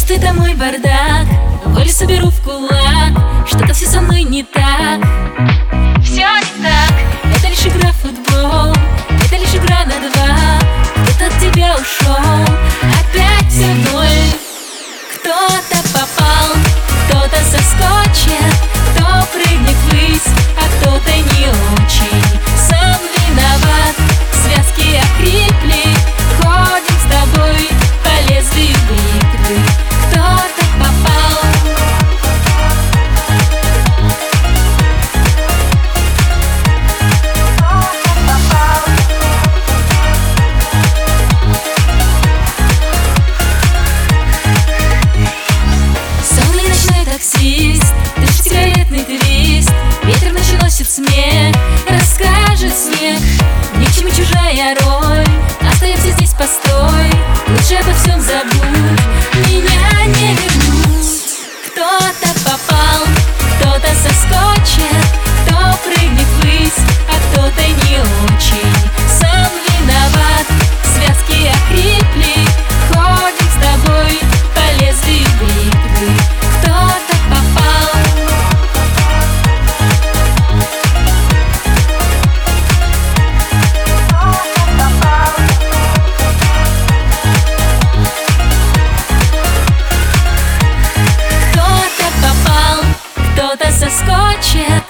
ты домой, бардак, волю соберу в кулак. Что-то все со мной не так. Все не так. Это лишь игра в футбол, это лишь игра на два. Кто-то от тебя ушел, опять все ноль. Кто-то попал, кто-то соскочит, кто прыгнет ввысь, а кто-то не очень. Сам виноват, связки охрипли, ходим с тобой по лезвию бритвы. Кто-то попал. Сонный ночной таксист, дышит сигаретный твист, ветер ночью носит смех, расскажет снег. Ни к чему чужая роль, остаемся здесь, постой. Лучше обо всем забудь, меня не вернуть. Кто-то попал, кто-то соскочит, кто прыгнет ввысь, а кто-то не очень. Сам виноват, связки охрипли, ходим с тобой по лезвию бритвы. Кто-то попал. Кто-то попал, кто-то соскочит,